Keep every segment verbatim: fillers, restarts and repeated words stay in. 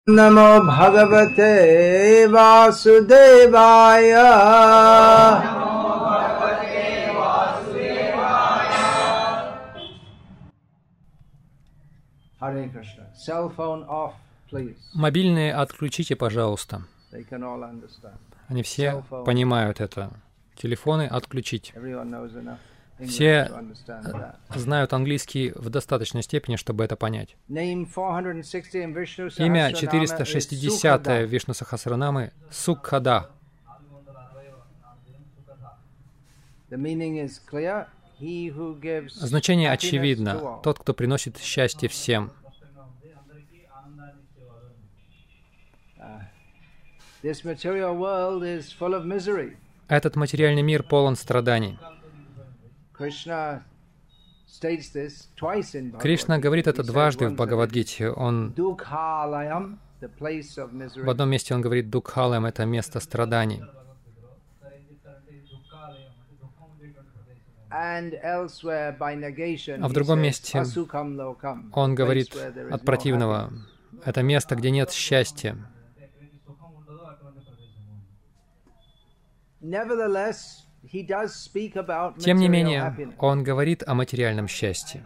Namo Bhagavate Vasudevaya. Hare Krishna. Cell phone off, please. Мобильные отключите, пожалуйста. They can all understand. Они все понимают это. Телефоны отключить. Everyone knows enough English Все to understand that. знают английский в достаточной степени, чтобы это понять. Name four hundred sixty in Vishnu Имя Sahasranama четыреста is шестидесятое Sukhada. Вишну Сахасранамы Сукхада. The meaning is clear. He who gives Значение happiness to очевидно. all. Тот, кто приносит счастье всем. This material world is full of misery. Этот материальный мир полон страданий. Krishna states this twice in Bhagavad Кришна Gita. говорит это He says дважды в once that Бхагавадгите. Он Dukhalayam, the place of misery. в одном месте он говорит Дукхалам — это место страданий. And elsewhere by negation, А в he другом says, месте "Asukam lokam", он place говорит where there is от no противного. happiness. Это место, где нет счастья. Nevertheless, he does speak about Тем не material менее, happiness. он говорит о материальном счастье.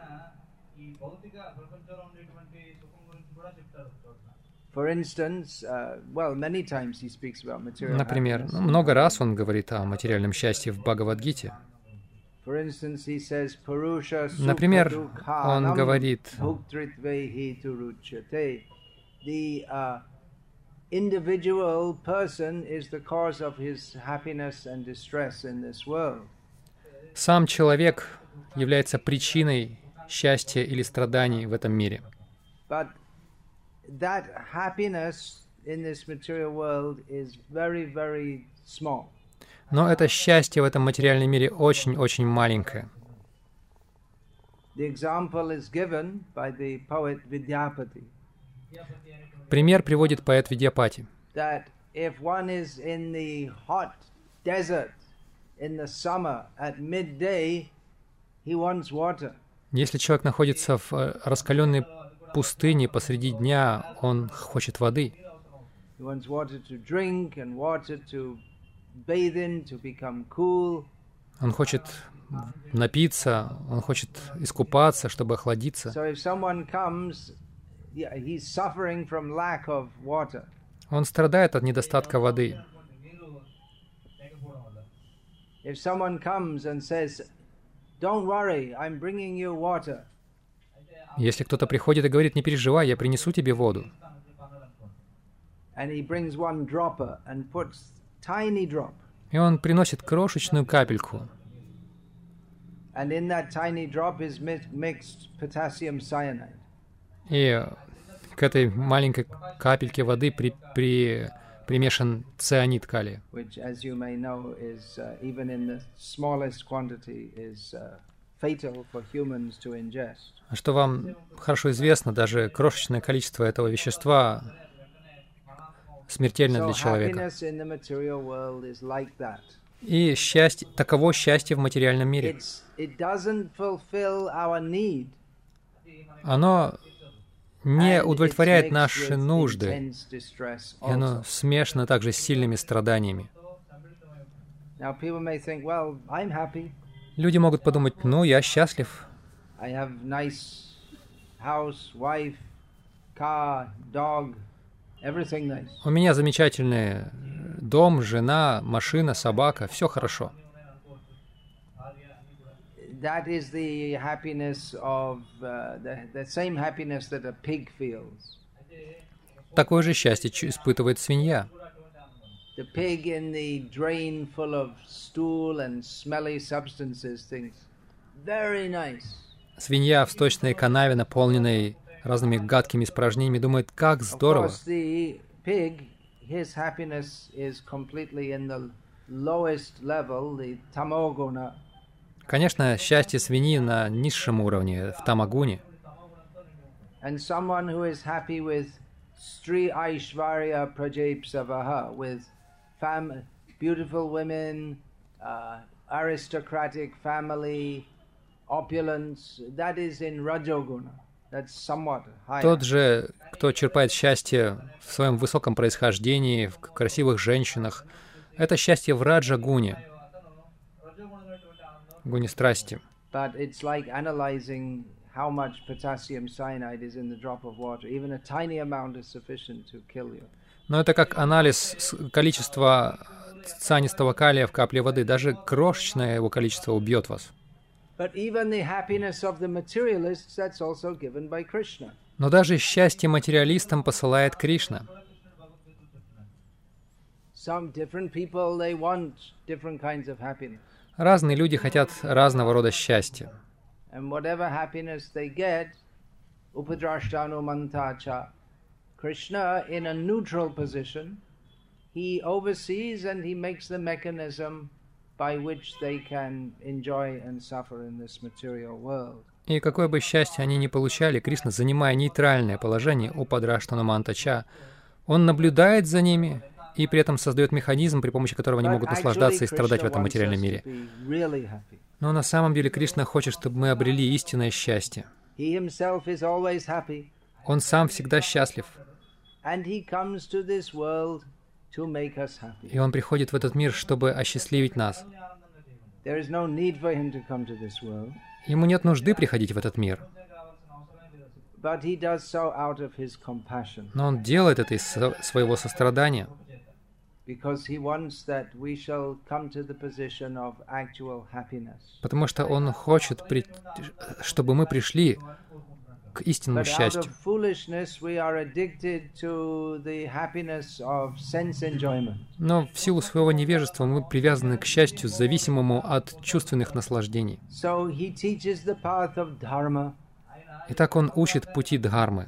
For instance, uh, well, many times he speaks about material Например, happiness. ну, много раз он говорит о материальном счастье в Бхагавадгите. For instance, he says, "Purusha sukha Например, dukhanam он говорит, bhuktritvehi turuchyate." The uh, individual person is the cause of his happiness and distress in this world. сам человек является причиной счастья или страданий в этом мире. But that happiness in this material world is very, very small. Но это счастье в этом материальном мире очень-очень маленькое. The example is given by the poet Vidyapati Пример приводит поэт Видьяпати. that if one is in the hot desert in the summer at midday, he wants water. Если человек находится в э, раскаленной пустыне посреди дня, он хочет воды. He wants water to drink and water to bathe in to become cool. Он хочет напиться, он хочет искупаться, чтобы охладиться. So if someone comes, yeah, he's suffering from lack of water. Он страдает от недостатка воды. If someone comes and says, "Don't worry, I'm bringing you water," Если кто-то приходит и говорит: «Не переживай, я принесу тебе воду», and he brings one dropper and puts tiny drop, и он приносит крошечную капельку, and in that tiny drop is mi- mixed potassium cyanide. и к этой маленькой капельке воды при, при, примешан цианид калия, Which, as you may know, is uh, even in the smallest quantity is uh, fatal for humans to ingest. А что вам хорошо известно, даже крошечное количество этого вещества смертельно So для человека. happiness in the material world is like that. И счастье, таково счастье в материальном мире. It's, it doesn't fulfill our need. Оно не and удовлетворяет it's mixed наши with нужды, intense distress и оно also. смешано также с сильными страданиями. Now people may think, well, I'm happy. Люди могут подумать: ну, я счастлив, I have nice house, wife, car, dog, everything nice. у меня замечательный дом, жена, машина, собака, все хорошо. That is the happiness of uh, the, the same happiness that a pig feels. Такое же счастье чу- испытывает свинья. The pig in the drain full of stool and smelly substances thinks, very nice. Свинья в сточной канаве, наполненной разными гадкими испражнениями, думает: как Of здорово. course, the pig, his happiness is completely in the lowest level, the tamoguna. Конечно, счастье свиньи на низшем уровне, в тамагуне. And someone who is happy with Sri Aishvarya Prajapsavaha, with fam- beautiful women, uh, aristocratic family, opulence, that is in Rajoguna. Тот же, кто черпает счастье в своем высоком происхождении, в красивых женщинах, это счастье в раджа-гуне, гуне страсти. Но это как анализ количества цианистого калия в капле воды. Даже крошечное его количество убьет вас. Но даже счастье материалистам посылает Кришна. Разные люди хотят разного рода счастья. Krishna, in a neutral position, he oversees and he makes the mechanism by which they can enjoy and suffer in this material world. И какое бы счастье они ни получали, Кришна, занимая нейтральное положение у Падраштана Мантача, он наблюдает за ними и при этом создает механизм, при помощи которого они могут наслаждаться и страдать в этом материальном мире. Но на самом деле Кришна хочет, чтобы мы обрели истинное счастье. Он сам всегда счастлив. И Он приходит в этот мир, чтобы осчастливить нас. Ему нет нужды приходить в этот мир. Но Он делает это из своего сострадания. Потому что Он хочет, чтобы мы пришли к истинному счастью. Но в силу своего невежества мы привязаны к счастью, зависимому от чувственных наслаждений. Итак, Он учит пути дхармы.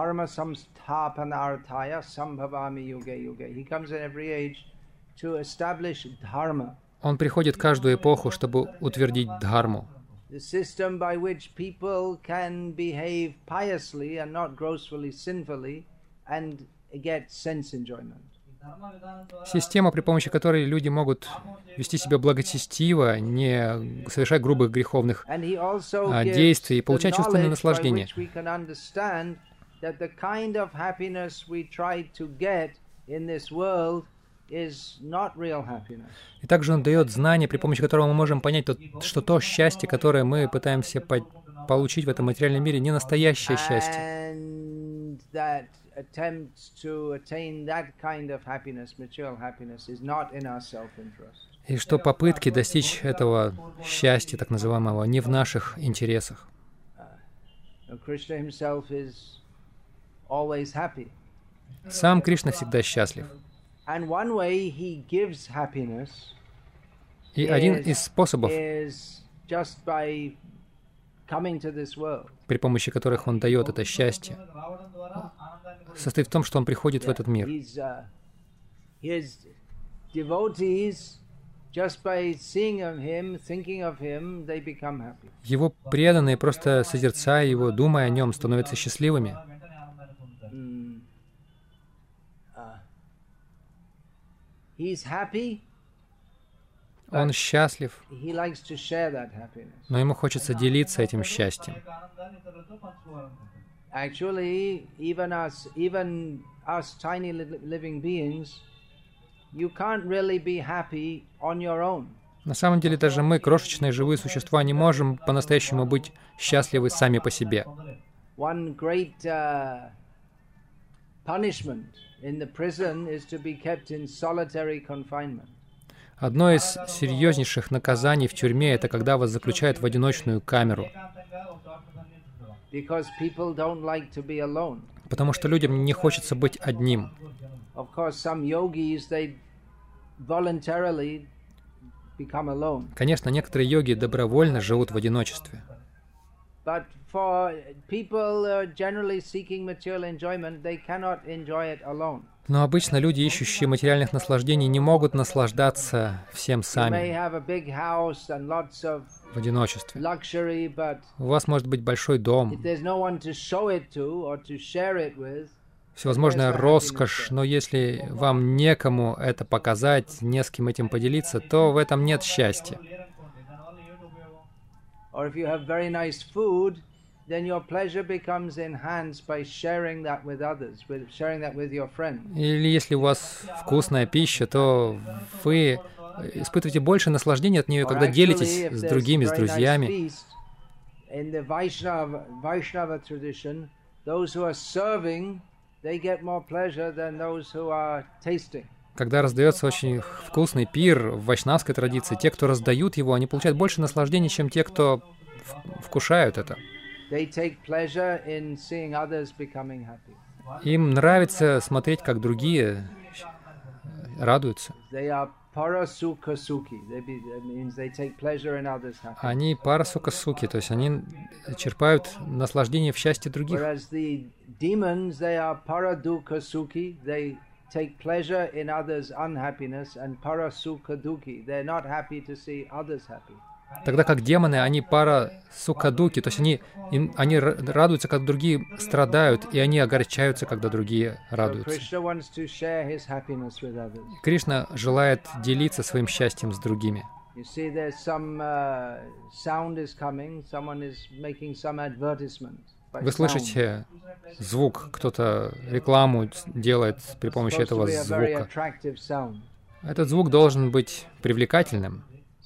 Он приходит каждую эпоху, чтобы утвердить дхарму. The system by which people can behave piously and not grossly sinfully and get sense enjoyment. Система, при помощи которой люди могут вести себя благочестиво, не совершать грубых греховных а, действий и получать чувственное наслаждение. И также Он дает знание, при помощи которого мы можем понять, что то счастье, которое мы пытаемся по получить в этом материальном мире, не настоящее счастье. И что попытки достичь этого счастья, так называемого, не в наших интересах. Сам Кришна всегда счастлив. И один из способов, при помощи которых Он дает это счастье, состоит в том, что Он приходит в этот мир. Его преданные, просто созерцая Его, думая о Нем, становятся счастливыми. Он счастлив, но ему хочется делиться этим счастьем. На самом деле, даже мы, крошечные живые существа, не можем по-настоящему быть счастливы сами по себе. Одно из серьезнейших наказаний в тюрьме — это когда вас заключают в одиночную камеру. Потому что людям не хочется быть одним. Конечно, некоторые йоги добровольно живут в одиночестве. Но обычно люди, ищущие материальных наслаждений, не могут наслаждаться всем сами в одиночестве. У вас может быть большой дом, всевозможная роскошь, но если вам некому это показать, не с кем этим поделиться, то в этом нет счастья. then your pleasure becomes enhanced by sharing that with others, with sharing that with your friends. Или если у вас вкусная пища, то вы испытываете больше наслаждения от нее, когда делитесь с другими, с друзьями. In the Vaishnava, Vaishnava tradition, those who are serving, they get more pleasure than those who are tasting. Когда раздается очень вкусный пир в вайшнавской традиции, те, кто раздают его, они получают больше наслаждения, чем те, кто вкушают это. Им нравится смотреть, как другие радуются. Они парасукасуки, то есть они черпают наслаждение в счастье других. Take pleasure in others' unhappiness and parasukha dukkhi. They're not happy to see others happy. Тогда как демоны, они парасукадуки, то есть они, им, они радуются, когда другие страдают, и они огорчаются, когда другие радуются. Кришна желает делиться своим счастьем с другими. Вы слышите звук, кто-то рекламу делает при помощи этого звука. Этот звук должен быть привлекательным.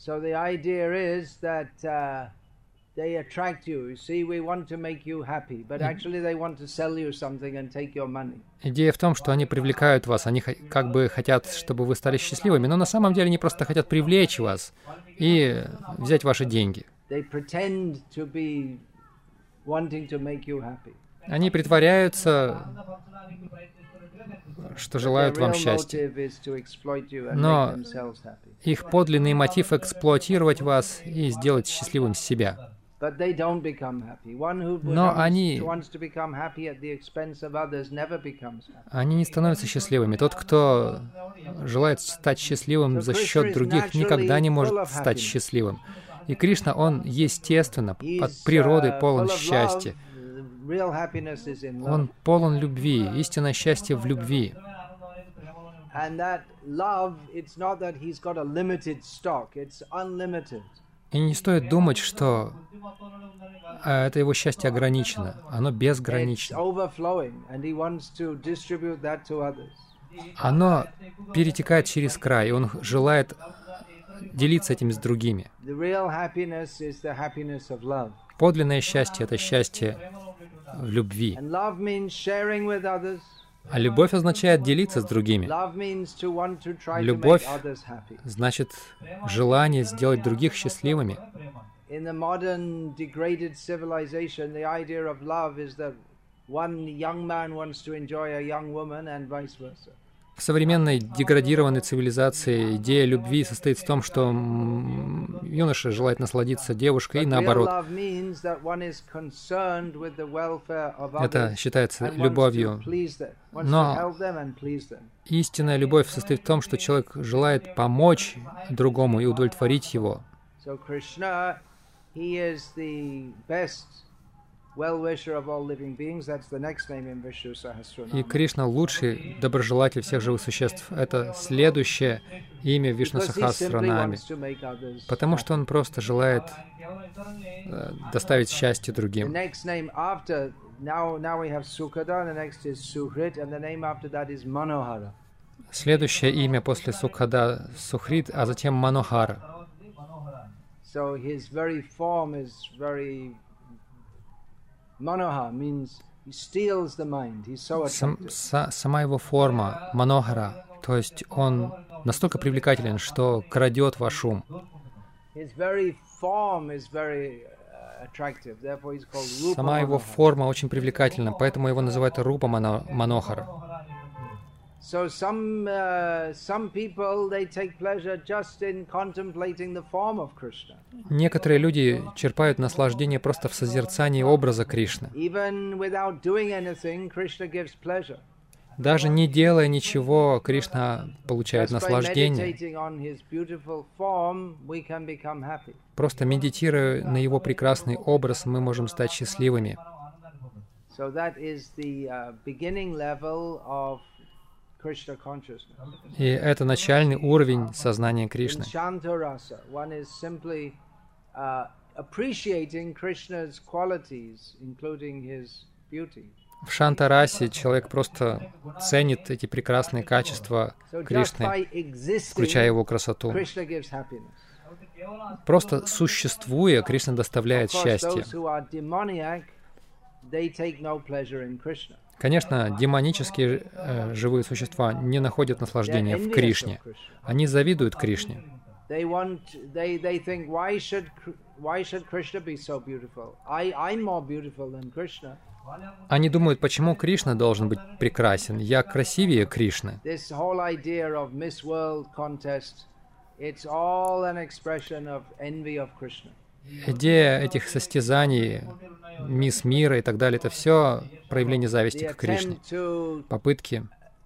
Идея в том, что они привлекают вас, они как бы хотят, чтобы вы стали счастливыми, но на самом деле они просто хотят привлечь вас и взять ваши деньги. Они притворяются, что желают вам счастья. Но их подлинный мотив — эксплуатировать вас и сделать счастливым себя. Но они, они не становятся счастливыми. Тот, кто желает стать счастливым за счет других, никогда не может стать счастливым. И Кришна, Он естественно, от природы полон счастья. Он полон любви, истинное счастье в любви. И не стоит думать, что это его счастье ограничено. Оно безгранично. Оно перетекает через край, и он желает делиться этим с другими. Подлинное счастье — это счастье в любви. А любовь означает делиться с другими. Любовь значит желание сделать других счастливыми. В современной деградированной цивилизации идея любви состоит в том, что юноша желает насладиться девушкой и наоборот. Это считается любовью. Но истинная любовь состоит в том, что человек желает помочь другому и удовлетворить его. И Кришна — лучший доброжелатель всех живых существ. Это следующее имя в Вишну-сахасранаме, потому что он просто желает э, доставить счастье другим. Следующее имя после Сукхада — Сухрид, а затем Манохара. Manohara means he steals the mind. He's so attractive. Сам, сама его форма — Манохара, то есть он настолько привлекателен, что крадет ваш ум. Сама его форма очень привлекательна, поэтому его называют Рупа Манохара. So some uh, some people they take pleasure just in contemplating the form of Krishna. Некоторые люди черпают наслаждение просто в созерцании образа Кришны. Even without doing anything, Krishna gives pleasure. Даже не делая ничего, Кришна получает наслаждение. Просто медитируя на его прекрасный образ, мы можем стать счастливыми. So that is the uh, beginning level of И это начальный уровень сознания Кришны. appreciating Krishna's qualities, including his beauty. В Шанта-расе человек просто ценит эти прекрасные качества Кришны, включая его красоту. Просто существуя, Кришна доставляет счастье. Конечно, демонические э, живые существа не находят наслаждения в Кришне. Они завидуют Кришне. Они думают, почему Кришна должен быть прекрасен? Я красивее Кришны. Идея этих состязаний, мисс мира и так далее, это все проявление зависти к Кришне. Попытки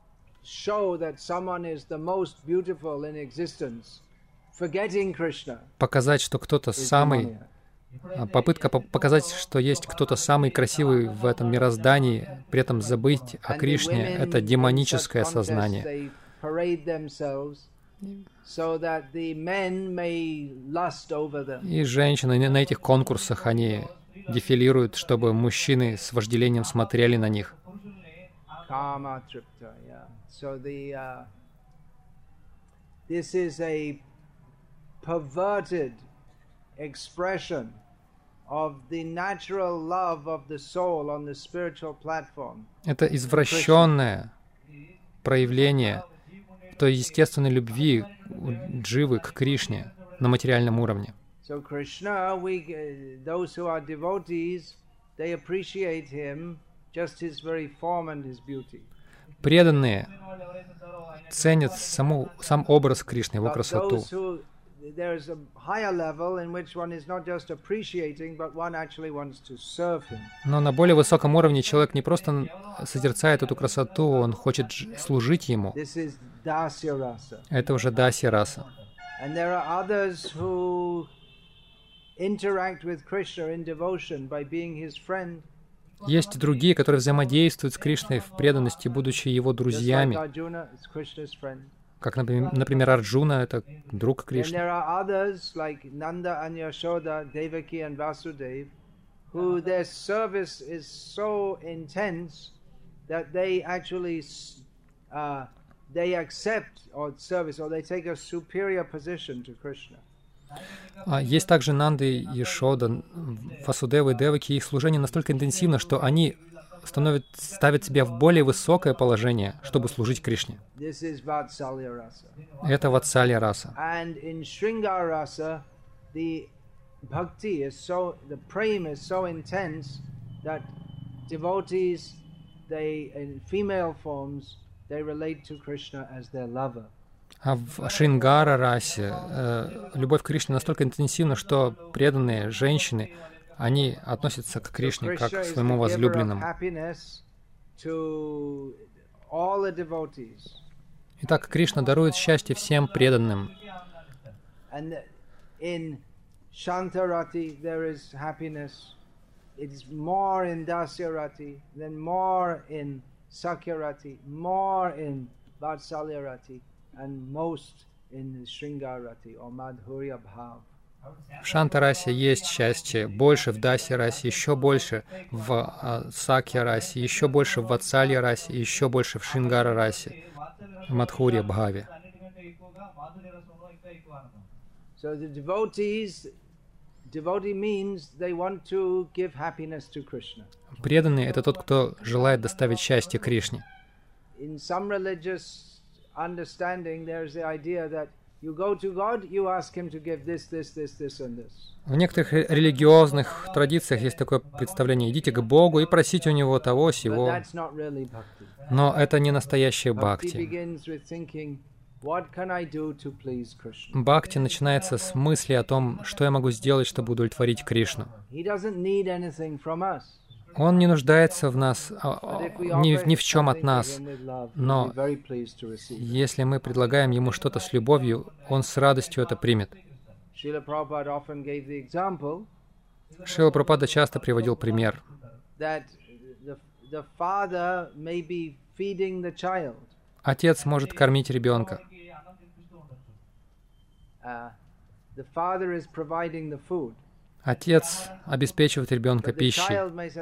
показать, что кто-то самый... Попытка показать, что есть кто-то самый красивый в этом мироздании, при этом забыть о Кришне, это демоническое сознание. И женщины на этих конкурсах, они дефилируют, чтобы мужчины с вожделением смотрели на них. Это извращенное проявление той естественной любви дживы к Кришне на материальном уровне. Преданные ценят саму, сам образ Кришны, его красоту. Но на более высоком уровне человек не просто созерцает эту красоту, он хочет служить ему. Это уже дасья раса. Есть другие, которые взаимодействуют с Кришной в преданности, будучи его друзьями. Как, например, Арджуна — это друг Кришны. Есть также Нанда, Яшода, Васудева и Деваки. Их служение настолько интенсивно, что они становят, ставят себя в более высокое положение, чтобы служить Кришне. Это Ватсалья раса. А в Шрингара расе э, любовь к Кришне настолько интенсивна, что преданные женщины, они относятся к Кришне как к своему возлюбленному. Итак, Кришна дарует счастье всем преданным. В Шанта-расе есть счастье, больше в Даси-расе, еще больше в uh, Сакья-расе, еще больше в Ватсалья-расе, еще больше в Шрингара-расе, в Мадхурья-бхаве. Преданный — это тот, кто желает доставить счастье Кришне. В некоторых религиозных традициях есть такое представление: идите к Богу и просите у Него того, сего. Но это не настоящее бхакти. Бхакти начинается с мысли о том, что я могу сделать, чтобы удовлетворить Кришну. Он не нуждается в нас, ни, ни в чем от нас, но если мы предлагаем Ему что-то с любовью, Он с радостью это примет. Шрила Прабхупада часто приводил пример. Отец может кормить ребенка. Отец обеспечивает ребенка пищей.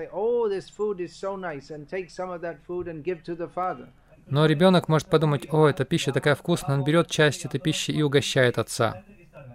Но ребенок может подумать: о, эта пища такая вкусная, он берет часть этой пищи и угощает отца.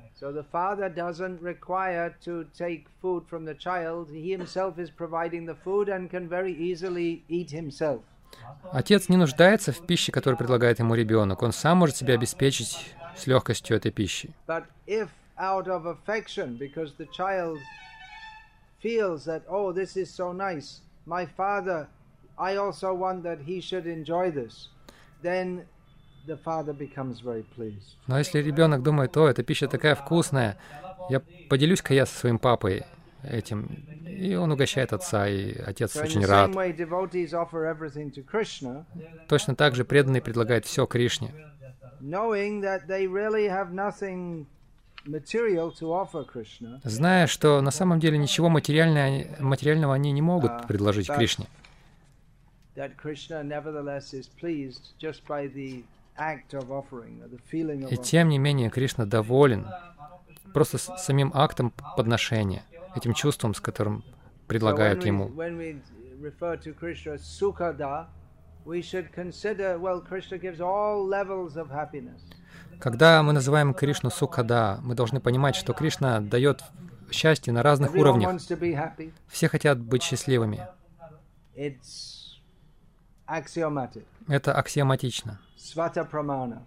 Отец не нуждается в пище, которую предлагает ему ребенок. Он сам может себя обеспечить с легкостью этой пищей. Out of affection, because the child feels that, oh, this is so nice, my father, I also want that he should enjoy this, then the father becomes very pleased. Но если ребенок думает: о, эта пища такая вкусная, я поделюсь-ка я со своим папой этим, и он угощает отца, и отец So очень in the рад. same way, devotees offer everything to Krishna, Точно так же преданный предлагает все Кришне, knowing that they really have nothing material to offer Krishna, зная, что на самом деле ничего материального, материального они не могут предложить Кришне. that Krishna nevertheless is pleased just by the act of offering, or the feeling of И offering. тем не менее Кришна доволен просто с самим актом подношения, этим чувством, с которым предлагают So when we, ему. when we refer to Krishna as Sukhada, we should consider, well, Krishna gives all levels of happiness. Когда мы называем Кришну Сукхада, мы должны понимать, что Кришна дает счастье на разных Everyone уровнях. wants to be happy. Все хотят быть счастливыми. It's axiomatic. Это аксиоматично. Svata pramana.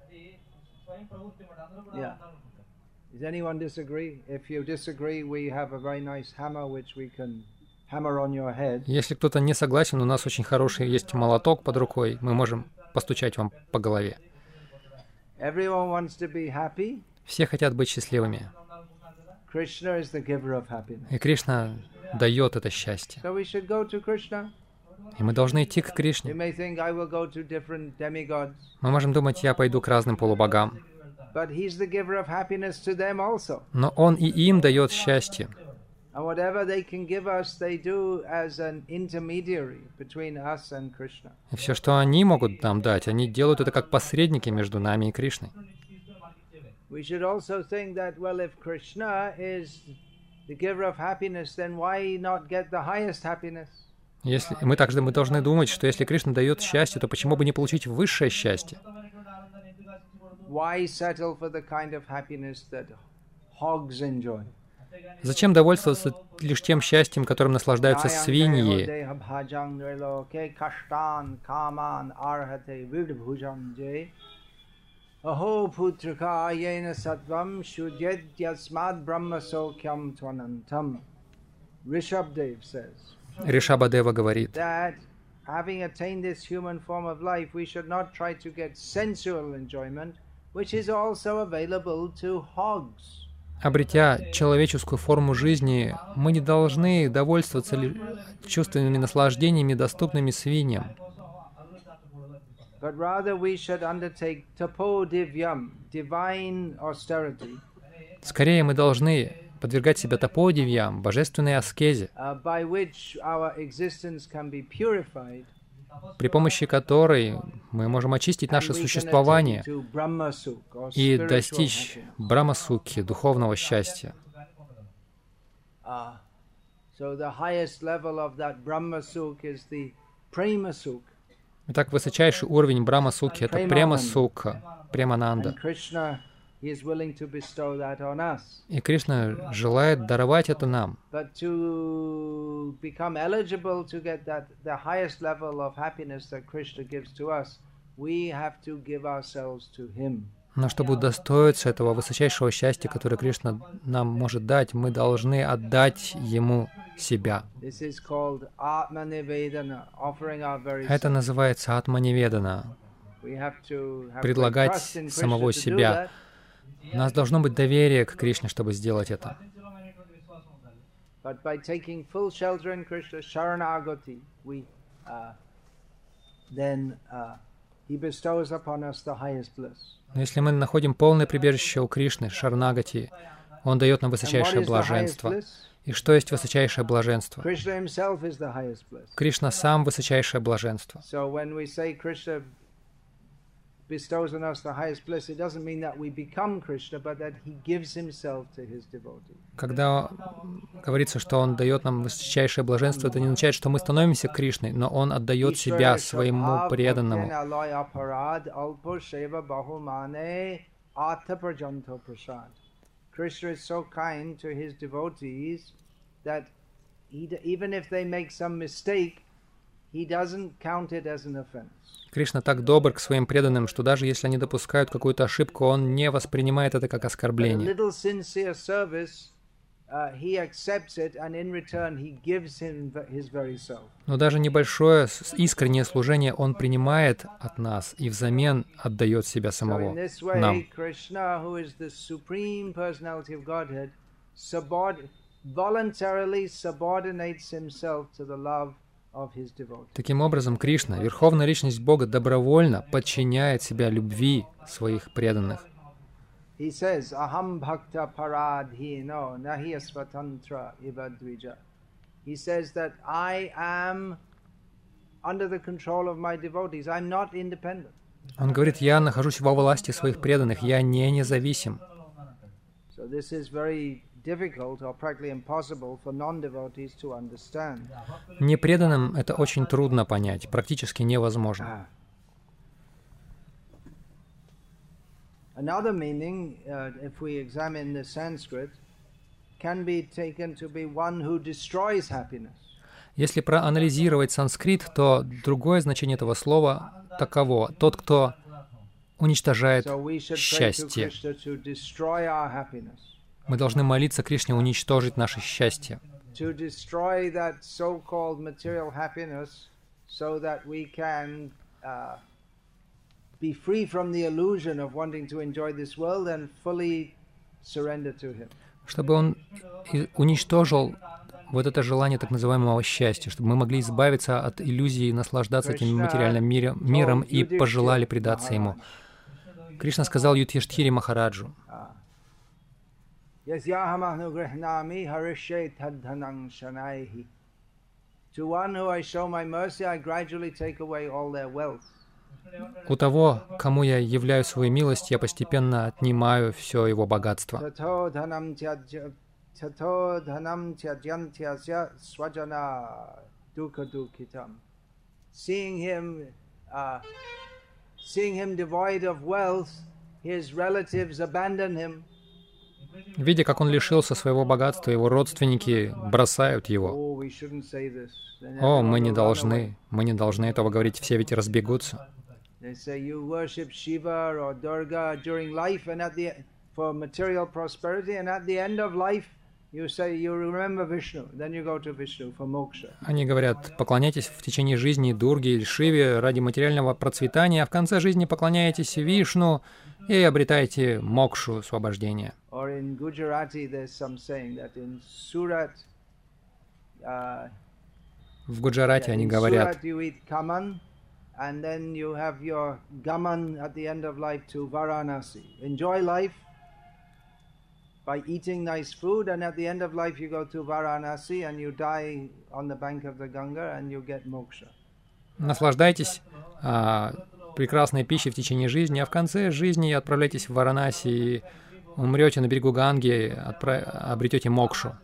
Yeah. Does anyone disagree? If you disagree, we have a very nice hammer which we can hammer on your head. Если кто-то не согласен, у нас очень хороший есть молоток под рукой, мы можем постучать вам по голове. Everyone wants to be happy. Все хотят быть счастливыми. Krishna is the giver of happiness. И Кришна дает это счастье. So we should go to Krishna. И мы должны идти к You Кришне. may think I will go to different demigods, Мы можем думать: я пойду к разным полубогам. but he's the giver of happiness to them also. Но Он и им дает счастье. And whatever they can give us, they do as an intermediary between us and Krishna. И все, что они могут нам дать, они делают это как посредники между нами и Кришной. We should also think that, well, if Krishna is the giver of happiness, then why not get the highest happiness? Если, мы также мы должны думать, что если Кришна дает счастье, то почему бы не получить высшее счастье? Why settle for the kind of happiness that hogs enjoy? Зачем довольствоваться лишь тем счастьем, которым наслаждаются свиньи? Aho putraka yena sattvam shudyed yasmad brahma sokyam tvanantam. Rishabdev says Ришабадева говорит: that having attained this human form of life, we should not try to get sensual enjoyment, which is also available to hogs. обретя человеческую форму жизни, мы не должны довольствоваться лишь чувственными наслаждениями, доступными свиньям. But rather we should undertake tapodivyam, divine austerity, Скорее, мы должны подвергать себя таподивьям, божественной аскезе, uh, by which our existence can be purified, при помощи которой мы можем очистить and наше we can существование attain to Brahmasuk, or и spiritual достичь happiness. брамасукхи, духовного счастья. Uh, so the highest level of that Brahmasuk is the Premasuk. Итак, высочайший уровень брамасукхи — это према-сукха, премананда. And Krishna, he is willing to bestow that on us. И Кришна желает даровать это нам. But to become eligible to get that the highest level of happiness that Krishna gives to us, we have to give ourselves to him. Но чтобы удостоиться этого высочайшего счастья, которое Кришна нам может дать, мы должны отдать Ему себя. This is called Atmanivedana, offering our very Это self. называется атманиведана. We have to have great Предлагать trust in Krishna самого to do себя. that. У нас должно быть доверие к Кришне, чтобы сделать это. But by taking full shelter in Krishna, Sharanagati, we uh, then uh, he bestows upon us the highest bliss. Но если мы находим полное прибежище у Кришны, Шаранагати, Он дает нам And what высочайшее is the highest блаженство. bliss? И что есть высочайшее блаженство? Krishna himself is the highest bliss. Кришна сам высочайшее блаженство. So when we say Krishna bestows on us the highest bliss, it doesn't mean that we become Krishna, but that he gives himself to his devotees. Когда говорится, что Он дает нам высочайшее блаженство, это не означает, что мы становимся Кришной, но Он отдает себя своему преданному. Krishna is so kind to his devotees that he, even if they make some mistake, he doesn't count it as an offense. Кришна так добр к своим преданным, что даже если они допускают какую-то ошибку, Он не воспринимает это как оскорбление. Но даже небольшое искреннее служение Он принимает от нас и взамен отдает себя самого нам. Таким образом, Кришна, Верховная Личность Бога, добровольно подчиняет себя любви своих преданных. He says, "Aham bhakta paradhino nahi svatantra iva dvija." He says that I am under the control of my devotees. I'm not independent. Он говорит, я нахожусь во власти своих преданных, я не независим. So this is very difficult or practically impossible for non-devotees to understand. Непреданным это очень трудно понять, практически невозможно. Another meaning, uh, if we examine the Sanskrit, can be taken to be one who destroys happiness. Если проанализировать санскрит, то другое значение этого слова таково: тот, кто уничтожает счастье. Мы должны молиться Кришне уничтожить наше счастье. To destroy that so-called material happiness, so that we can uh, be free from the illusion of wanting to enjoy this world and fully surrender to Him. Чтобы Он уничтожил вот это желание так называемого счастья, чтобы мы могли избавиться от иллюзии наслаждаться этим материальным миром, миром и пожелали предаться Ему. Кришна сказал Юдхиштхире Махараджу: у того, кому я являю свою милость, я постепенно отнимаю все его богатство. Seeing him, uh, seeing him devoid of wealth, his relatives abandon him. Видя, как он лишился своего богатства, его родственники бросают его. О, мы не должны, мы не должны этого говорить, все ведь разбегутся. They say you worship Shiva or Durga during life and at the for material prosperity, and at the end of life you say you remember Vishnu, then you go to Vishnu for moksha. Они говорят, поклоняйтесь в течение жизни Дурге или Шиве ради материального процветания, а в конце жизни поклоняетесь Вишну и обретаете мокшу, освобождение. Or in Gujarati there's some saying that in Surat, uh, в Гуджарате они говорят: and then you have your gaman at the end of life to Varanasi. Enjoy life by eating nice food, and at the end of life you go to Varanasi and you die on the bank of the Ganga and you get moksha. Наслаждайтесь а, прекрасной пищей в течение жизни, а в конце жизни отправляйтесь в Варанаси и умрете на берегу Ганги, отправ... обретете мокшу.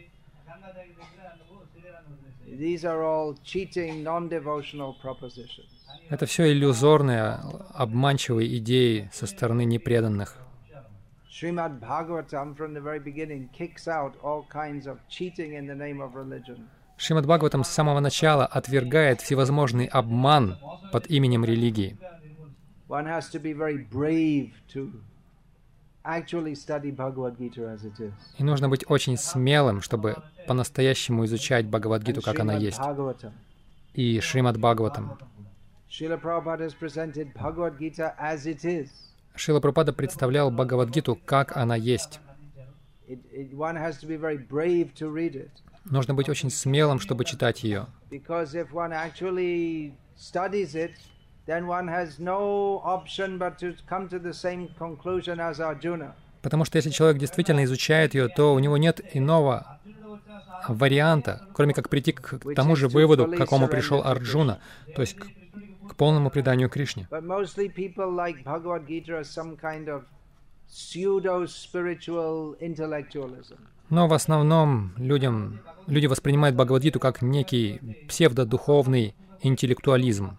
These are all cheating, non-devotional propositions. Это все иллюзорные, обманчивые идеи со стороны непреданных. Srimad Bhagavatam from the very beginning kicks out all kinds of cheating in the name of religion. Шримад Бхагаватам с самого начала отвергает всевозможный обман под именем религии. One has to be very brave to actually study Bhagavad Gita as it is. И нужно быть очень смелым, чтобы по-настоящему изучать Бхагавад-гиту, как она есть. И Шримад Бхагаватам. Шрила Прабхупада has presented Bhagavad Gita as it is. Шрила Прабхупада представлял Бхагавад-гиту, как она есть. It, it, one has to be very brave to read it. Нужно быть очень смелым, чтобы читать ее. Because if one actually studies it, then one has no option but to come to the same conclusion as Arjuna. Потому что если человек действительно изучает ее, то у него нет иного варианта, кроме как прийти к тому же выводу, к какому пришел Арджуна, то есть к полному преданию Кришне. But mostly people like Bhagavad Gita as some kind of pseudo-spiritual intellectualism. Но в основном людям, люди воспринимают Бхагавад-гиту как некий псевдодуховный интеллектуализм.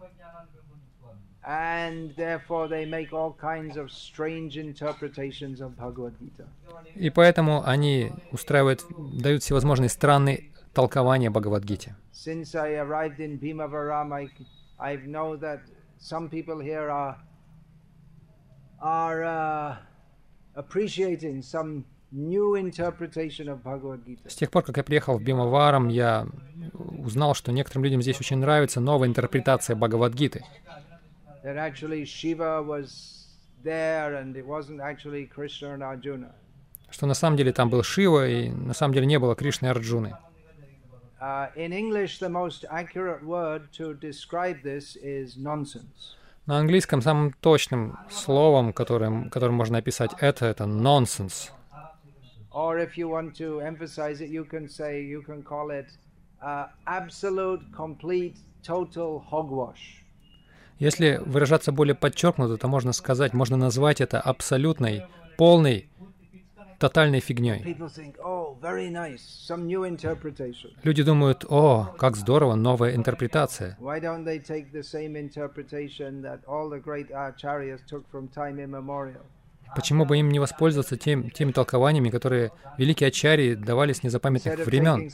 And therefore they make all kinds of strange interpretations of Bhagavad Gita. И поэтому они устраивают, дают всевозможные странные толкования Бхагавад-гите. Since I arrived in Bhimavaram, I, I know that some people here are, are uh, appreciating some new interpretation of Bhagavad Gita. С тех пор, как я приехал в Бимаварам, я узнал, что некоторым людям здесь очень нравится новая интерпретация Бхагавад-гиты. That actually Shiva was there and it wasn't actually Krishna and Arjuna. Что на самом деле там был Шива, и на самом деле не было Кришны и Арджуны. Uh, in English, the most accurate word to describe this is nonsense. На английском самым точным словом, которым, которым можно описать это, это nonsense. Or if you want to emphasize it, you can say, you can call it uh, absolute, complete, total hogwash. Если выражаться более подчеркнуто, то можно сказать, можно назвать это абсолютной, полной, тотальной фигней. Think, oh, very nice, some new interpretation. Люди думают, о, как здорово, новая интерпретация. Why don't they take the same interpretation that all the great acharyas took from time immemorial? Почему бы им не воспользоваться тем, теми толкованиями, которые великие ачарьи давали с незапамятных времен?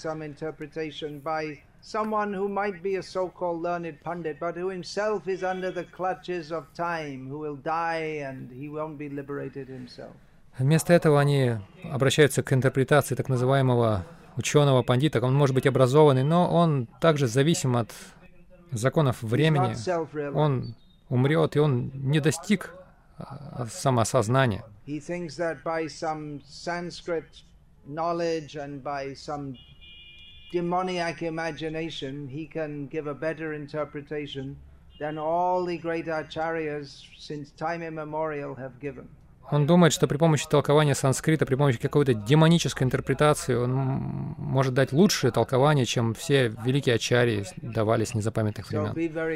Someone who might be a so-called learned pundit, but who himself is under the clutches of time, who will die and he won't be liberated himself. Вместо этого они обращаются к интерпретации так называемого ученого-пандита. Он может быть образованный, но он также зависим от законов времени. Он умрет, и он не достиг самоосознания. He thinks that by some Sanskrit knowledge and by some demoniac imagination, he can give a better interpretation than all the great acharyas since time immemorial have given. Он думает, что при помощи толкования санскрита, при помощи какой-то демонической интерпретации, он может дать лучшее толкование, чем все великие ачарьи давали с незапамятных времен.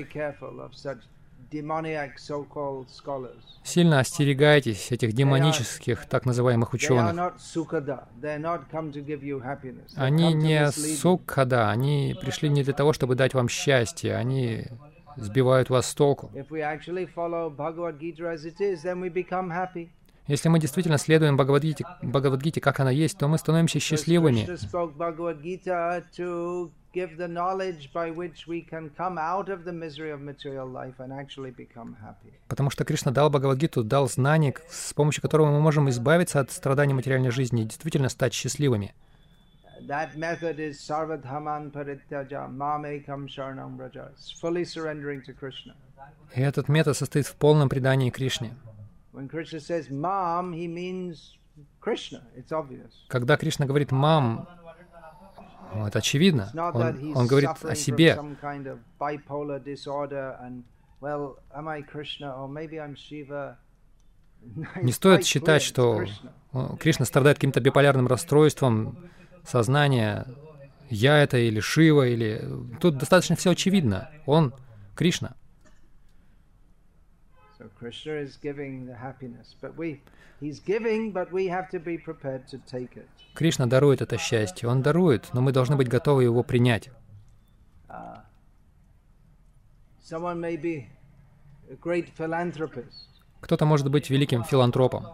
Сильно остерегайтесь этих демонических, так называемых ученых. Они не сукхада, они пришли не для того, чтобы дать вам счастье, они сбивают вас с толку. Если мы действительно следуем Бхагавад-гите, Бхагавад-гите, как она есть, то мы становимся счастливыми. Потому что Кришна дал Бхагавад-гиту, дал знание, с помощью которого мы можем избавиться от страданий материальной жизни и действительно стать счастливыми. И этот метод состоит в полном предании Кришне. Когда Кришна говорит «мам», это очевидно. Он, он говорит о себе. Не стоит считать, что Кришна страдает каким-то биполярным расстройством сознания. Я это или Шива, или... Тут достаточно все очевидно. Он Кришна. Кришна дарует это счастье. Он дарует, но мы должны быть готовы его принять. Кто-то может быть великим филантропом.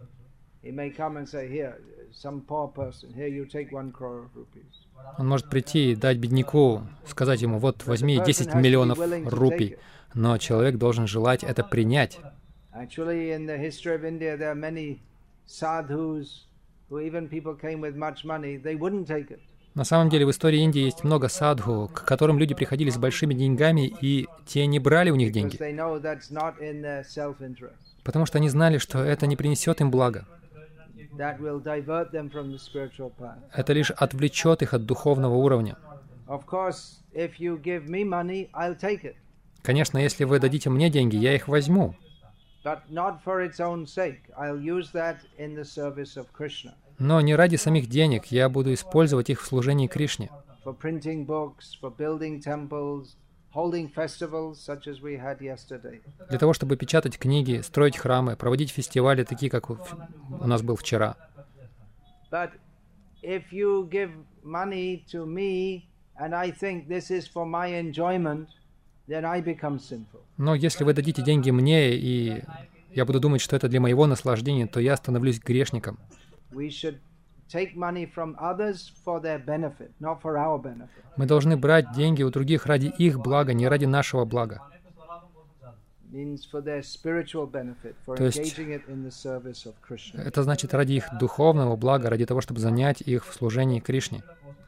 Он может прийти и дать бедняку, сказать ему, вот, возьми десять миллионов рупий. Но человек должен желать это принять. На самом деле в истории Индии есть много садху, к которым люди приходили с большими деньгами, и те не брали у них деньги, потому что они знали, что это не принесет им блага. Это лишь отвлечет их от духовного уровня. Конечно, если вы дадите мне деньги, я их возьму. Но не ради самих денег, я буду использовать их в служении Кришне. holding festivals such as we had yesterday. Для того, чтобы печатать книги, строить храмы, проводить фестивали, такие, как у у нас был вчера. But if you give money to me and I think this is for my enjoyment, then I become sinful. Но если вы дадите деньги мне, и я буду думать, что это для моего наслаждения, то я становлюсь грешником. We should take money from others for their benefit, not for our benefit. Мы должны брать деньги у других ради их блага, не ради нашего блага. Means for their spiritual benefit, for То есть engaging it in the service of Krishna. это значит ради их духовного блага, ради того, чтобы занять их в служении Кришне.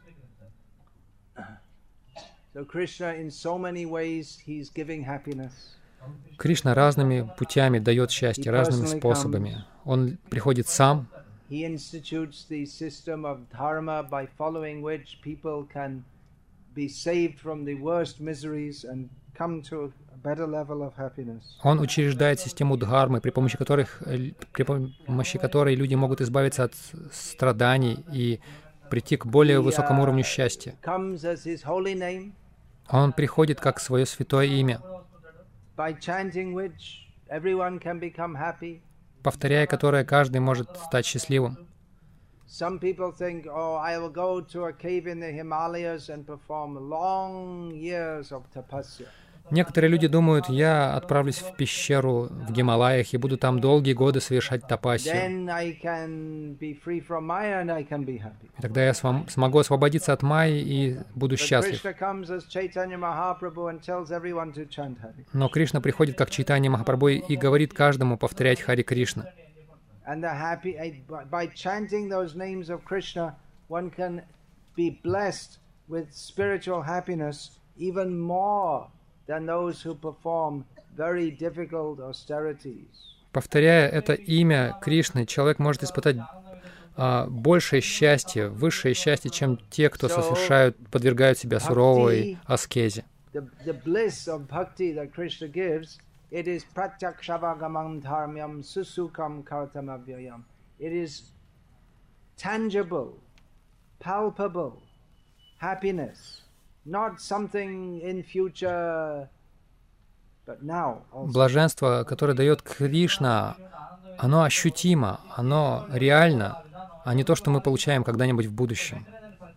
So Krishna, in so many ways, he's giving happiness. Кришна разными путями дает счастье, разными способами. Он приходит сам. He institutes the system of dharma by following which people can be saved from the worst miseries and come to a better level of happiness. Он учреждает систему дхармы, при помощи которых, при помощи которой люди могут избавиться от страданий и прийти к более высокому уровню счастья. Comes as his holy name, Он приходит как свое святое имя, by chanting which everyone can become happy. повторяя которое каждый может стать счастливым. Some people think, oh, I will go to a cave in the Himalayas and perform long years of tapasya. Некоторые люди думают, я отправлюсь в пещеру в Гималаях и буду там долгие годы совершать тапасию. Then I can be free from Maya and I can be happy. И тогда я свом- смогу освободиться от майи и буду But счастлив. Krishna comes as Chaitanya Mahaprabhu and tells everyone to chant Hari. Но Кришна приходит как Чайтанья Махапрабху и говорит каждому повторять Хари Кришна. And the happy by- by chanting those names of Krishna, one can be blessed with spiritual happiness even more than those who perform very difficult austerities. Повторяя это имя Кришны, человек может испытать а, большее счастье, высшее счастье, чем те, кто совершают, подвергают себя суровой аскезе. The, the bliss of bhakti that Krishna gives, it is pratyakshavāgamam dharmyam susukam kartamavyayam. It is tangible, palpable happiness, not something in future, but now also. Блаженство, которое дает Кришна, оно ощутимо, оно реально, а не то, что мы получаем когда-нибудь в будущем.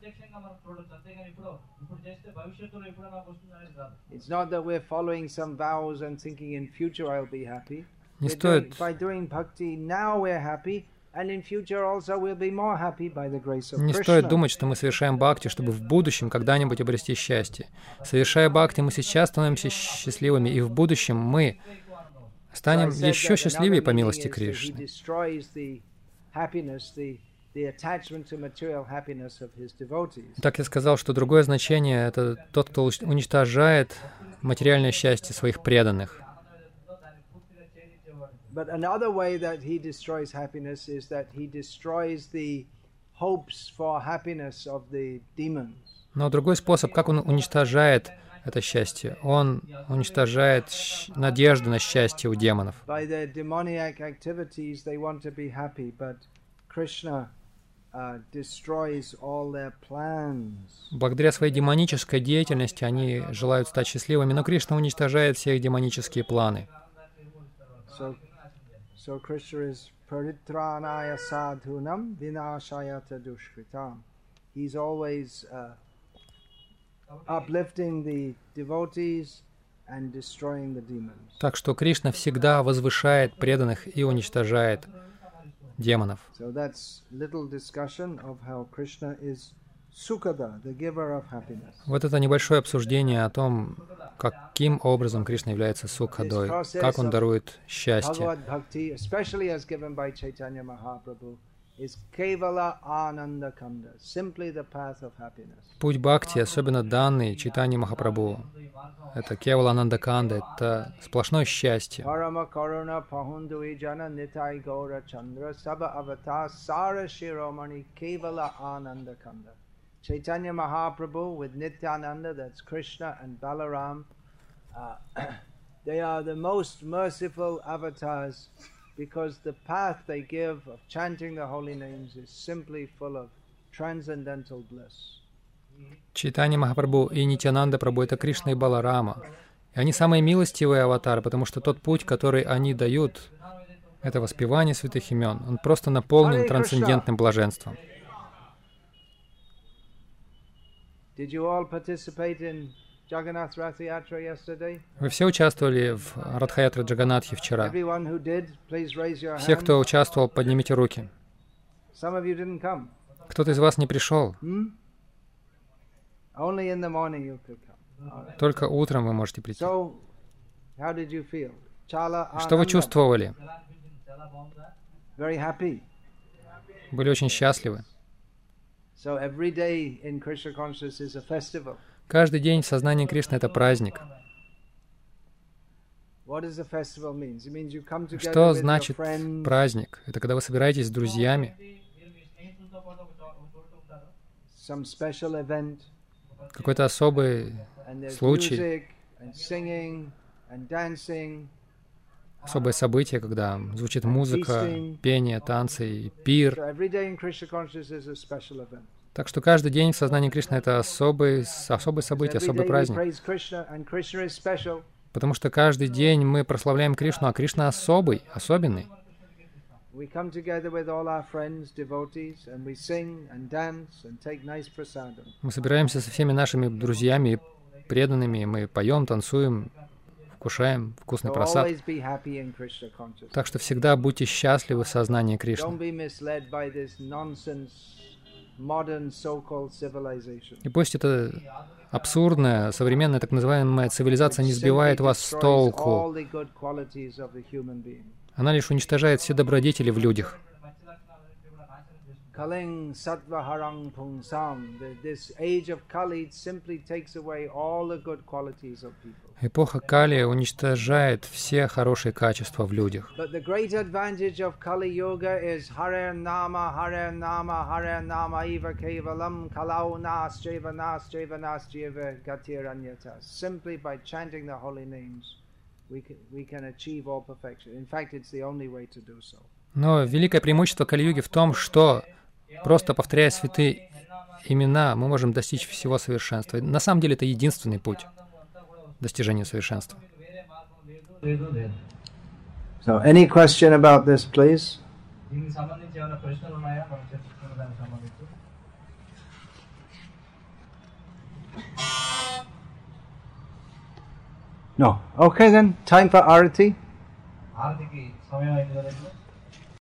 It's not that we're following some vows and thinking in future I'll be happy. Не We're doing, стоит, by doing bhakti now we're happy, and in future also we'll be more happy by the grace of не Krishna. стоит думать, что мы совершаем бхакти, чтобы в будущем когда-нибудь обрести счастье. Совершая бхакти, мы сейчас становимся счастливыми, и в будущем мы станем So I said еще that счастливее another по meaning милости is that he Кришны. destroys the happiness, the, the attachment to material happiness of his devotees. Так я сказал, что другое значение — это тот, кто уничтожает материальное счастье своих преданных. But another way that he destroys happiness is that he destroys the hopes for happiness of the demons. Но другой способ, как он уничтожает это счастье, он уничтожает щ- надежды на счастье у демонов. By their demoniac activities, they want to be happy, but Krishna uh, destroys all their plans. Благодаря своей демонической деятельности они желают стать счастливыми, но Кришна уничтожает все их демонические планы. So, so Krishna is paritranaya sadhunam vinashayata dushkritam. He's always uh, uplifting the devotees and destroying the demons. Так что Кришна всегда возвышает преданных и уничтожает демонов. So that's little discussion of how Krishna is Sukada, the giver of happiness. Вот это небольшое обсуждение о том, каким образом Кришна является Сукхадой, как он дарует счастье. Bhagavad Bhakti, especially as given by Chaitanya Mahaprabhu, is Kevala Ananda Kanda, simply the path of happiness. Путь Бхакти, особенно данный Чайтанья Махапрабху, это Кевала Анандаканда, это сплошное счастье. Parama Karuna Pahundui Jana Nitai Gaura Chandra Saba Avatar Sara Shiromani Kevala Ananda Kanda. Chaitanya Mahaprabhu with Nityananda, that's Krishna and Balaram, uh, they are the most merciful avatars because the path they give of chanting the holy names is simply full of transcendental bliss. Чайтанья Махапрабху и Нитьянанда Прабху — это Кришна и Баларама. И они самые милостивые аватары, потому что тот путь, который они дают, это воспевание святых имен. Он просто наполнен трансцендентным блаженством. Вы все участвовали в Радха-ятре Джаганатхи вчера? Все, кто участвовал, поднимите руки. Кто-то из вас не пришел. Только утром вы можете прийти. Что вы чувствовали? Были очень счастливы. Каждый день в сознании Кришны — это праздник. Что значит праздник? Это когда вы собираетесь с друзьями, какой-то особый случай, особое событие, когда звучит музыка, пение, танцы и пир. Так что каждый день в сознании Кришны — это особый, особое событие, особый праздник. Потому что каждый день мы прославляем Кришну, а Кришна особый, особенный. Мы собираемся со всеми нашими друзьями и преданными, мы поем, танцуем, вкушаем вкусный прасад. Так что всегда будьте счастливы в сознании Кришны. И пусть эта абсурдная, современная так называемая цивилизация не сбивает вас с толку. Она лишь уничтожает все добродетели в людях. Эпоха Кали уничтожает все хорошие качества в людях. Но великое преимущество Кали-юги в том, что, просто повторяя святые имена, мы можем достичь всего совершенства. На самом деле это единственный путь к достижению совершенства. So, any question about this, please? No. Okay then, time for Arati.